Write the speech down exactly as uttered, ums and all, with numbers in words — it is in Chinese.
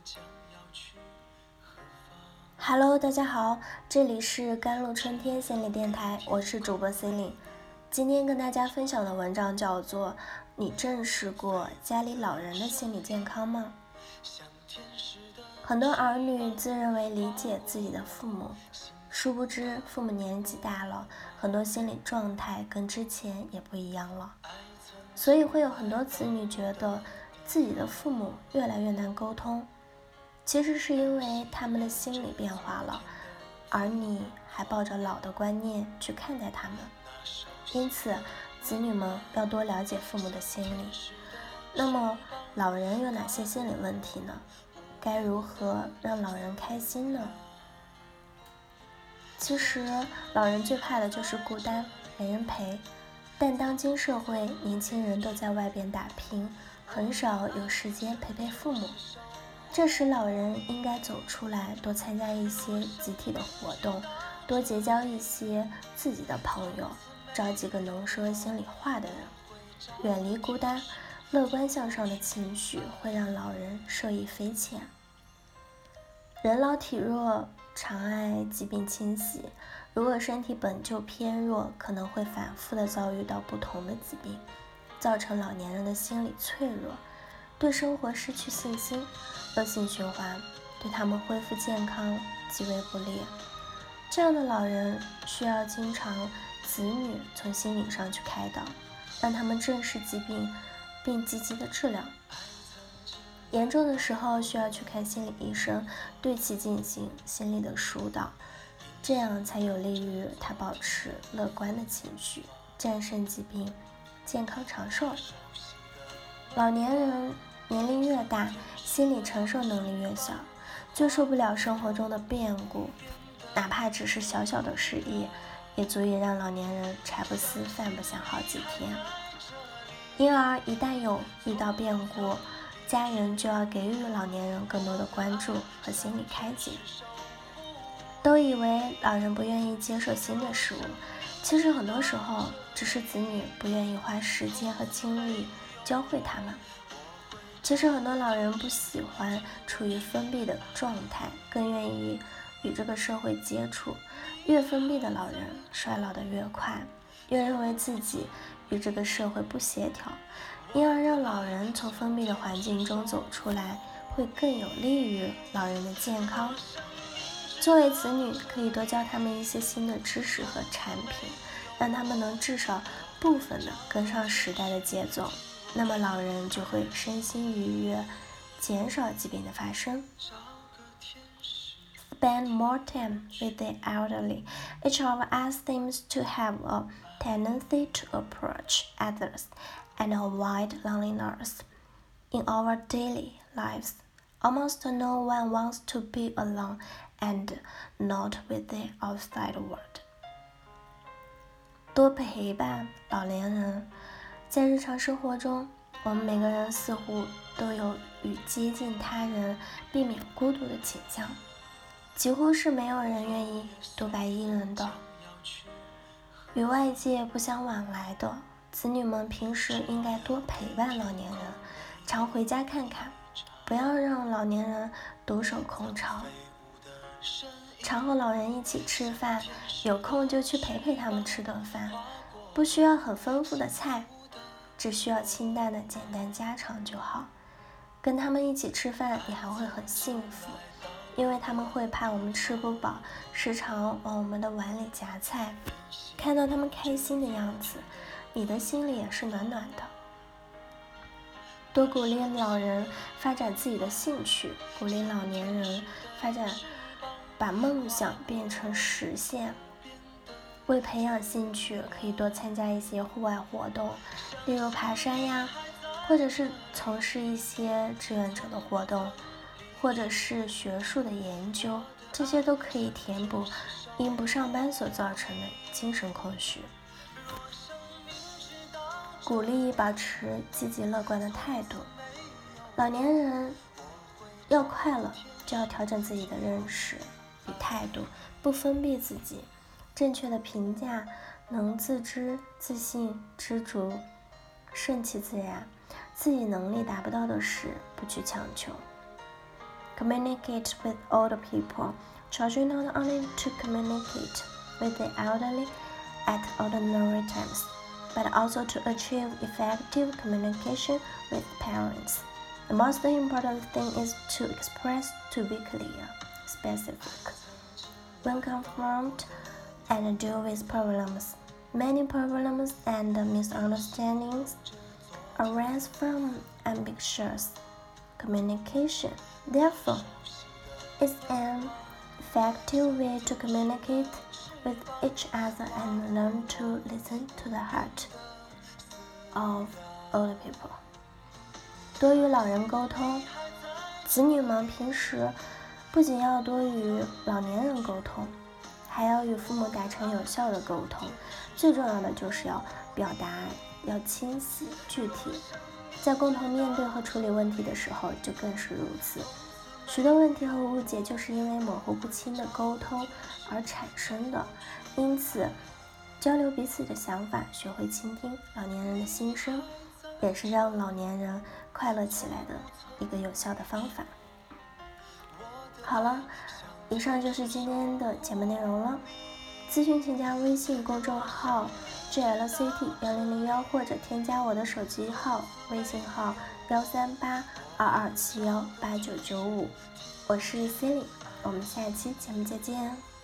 Hello， 大家好，这里是甘露春天心理电台，我是主播 Celine。今天跟大家分享的文章叫做《你正视过家里老人的心理健康吗》。很多儿女自认为理解自己的父母，殊不知父母年纪大了，很多心理状态跟之前也不一样了，所以会有很多子女觉得自己的父母越来越难沟通。其实是因为他们的心理变化了，而你还抱着老的观念去看待他们，因此子女们要多了解父母的心理。那么老人有哪些心理问题呢？该如何让老人开心呢？其实老人最怕的就是孤单，没人陪。但当今社会年轻人都在外边打拼，很少有时间陪陪父母，这时老人应该走出来，多参加一些集体的活动，多结交一些自己的朋友，找几个能说心里话的人，远离孤单，乐观向上的情绪会让老人受益匪浅。人老体弱，常爱疾病侵袭，如果身体本就偏弱，可能会反复的遭遇到不同的疾病，造成老年人的心理脆弱，对生活失去信心，恶性循环，对他们恢复健康极为不利。这样的老人需要经常子女从心理上去开导，让他们正视疾病并积极的治疗，严重的时候需要去看心理医生，对其进行心理的疏导，这样才有利于他保持乐观的情绪，战胜疾病，健康长寿。老年人年龄越大，心理承受能力越小，最受不了生活中的变故，哪怕只是小小的失意，也足以让老年人茶不思饭不想好几天。因而一旦有遇到变故，家人就要给予老年人更多的关注和心理开解。都以为老人不愿意接受新的事物，其实很多时候只是子女不愿意花时间和精力教会他们。其实很多老人不喜欢处于封闭的状态，更愿意与这个社会接触。越封闭的老人衰老得越快，越认为自己与这个社会不协调，因而让老人从封闭的环境中走出来，会更有利于老人的健康。作为子女，可以多教他们一些新的知识和产品，让他们能至少部分的跟上时代的节奏，那么老人就会身心愉悦，减少疾病的发生。Spend more time with the elderly. Each of us seems to have a tendency to approach others and avoid loneliness. In our daily lives, almost no one wants to be alone and not with the outside world. 多陪伴老年人，在日常生活中，我们每个人似乎都有与接近他人、避免孤独的倾向，几乎是没有人愿意独白一人的。与外界不相往来的子女们，平时应该多陪伴老年人，常回家看看，不要让老年人独守空巢。常和老人一起吃饭，有空就去陪陪他们吃顿饭，不需要很丰富的菜，只需要清淡的简单家常就好。跟他们一起吃饭，你还会很幸福，因为他们会怕我们吃不饱，时常往我们的碗里夹菜。看到他们开心的样子，你的心里也是暖暖的。多鼓励老人发展自己的兴趣，鼓励老年人发展，把梦想变成实现。为培养兴趣，可以多参加一些户外活动，例如爬山呀，或者是从事一些志愿者的活动，或者是学术的研究，这些都可以填补因不上班所造成的精神空虚。鼓励保持积极乐观的态度。老年人要快乐，就要调整自己的认识与态度，不封闭自己，正确的评价，能自知、自信、知足，顺其自然，自己能力达不到的事不去强求。 communicate with older people. Children not only to communicate with the elderly at ordinary times, but also to achieve effective communication with parents. The most important thing is to express, to be clear, specific. When confronted and deal with problems, many problems and misunderstandings arise from ambiguous communication. Therefore, it's an effective way to communicate with each other and learn to listen to the heart of older people. 多与老人沟通，子女们平时不仅要多与老年人沟通，还要与父母达成有效的沟通。最重要的就是要表达要清晰具体，在共同面对和处理问题的时候就更是如此。许多问题和误解就是因为模糊不清的沟通而产生的，因此交流彼此的想法，学会倾听老年人的心声，也是让老年人快乐起来的一个有效的方法。好了，以上就是今天的节目内容了。咨询请加微信公众号 G L C T 一零零一或者添加我的手机号微信号幺三八二二七幺八九九五，我是 Celine， 我们下期节目再见。